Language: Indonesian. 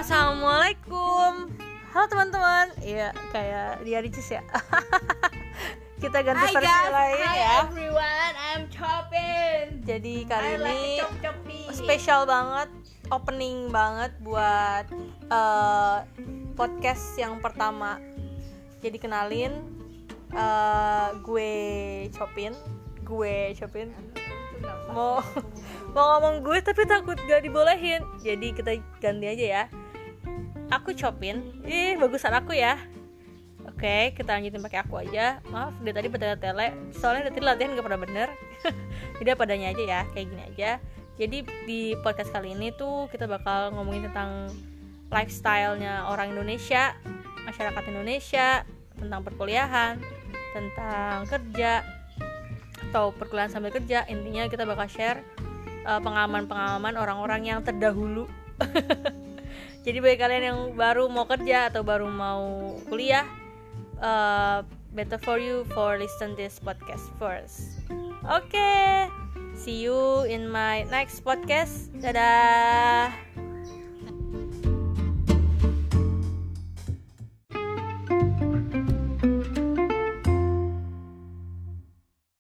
Assalamualaikum. Halo teman-teman. Iya, kayak dia Ricis ya. Kita ganti versi lain ya. Hi everyone, I'm Chopin. Jadi kali ini Chop-chopi. spesial banget, opening banget buat podcast yang pertama. Jadi kenalin, gue Chopin. Mau ngomong gue tapi takut gak dibolehin. Jadi kita ganti aja ya. Aku Chopin. Bagusan aku ya. Oke, kita lanjutin pakai aku aja. Maaf, dia tadi bertele-tele. Soalnya tadi latihan gak pernah bener. Jadi padanya aja ya, kayak gini aja. Jadi di podcast kali ini tuh kita bakal ngomongin tentang lifestyle-nya orang Indonesia, masyarakat Indonesia, tentang perkuliahan, tentang kerja atau perkuliahan sambil kerja. Intinya kita bakal share pengalaman-pengalaman orang-orang yang terdahulu. Jadi bagi kalian yang baru mau kerja atau baru mau kuliah, better for you for listen this podcast first. Okay, see you in my next podcast. Dadah.